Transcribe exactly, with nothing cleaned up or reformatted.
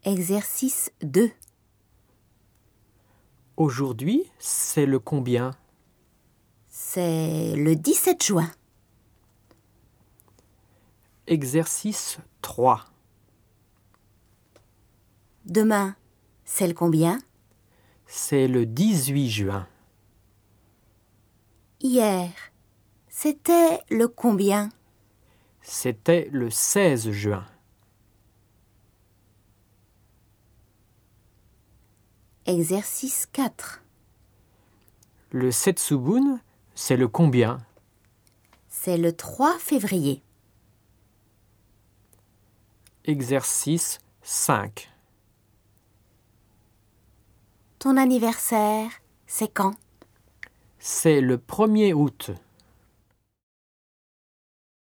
Exercice deux. Aujourd'hui, c'est le combien? C'est le dix-sept juin. Exercice trois. Demain, c'est le combien? C'est le dix-huit juin. Hier, c'était le combien? C'était le seize juin. Exercice quatre. Le Setsubun, c'est le combien? C'est le trois février. Exercice cinq. Ton anniversaire, c'est quand? C'est le premier août.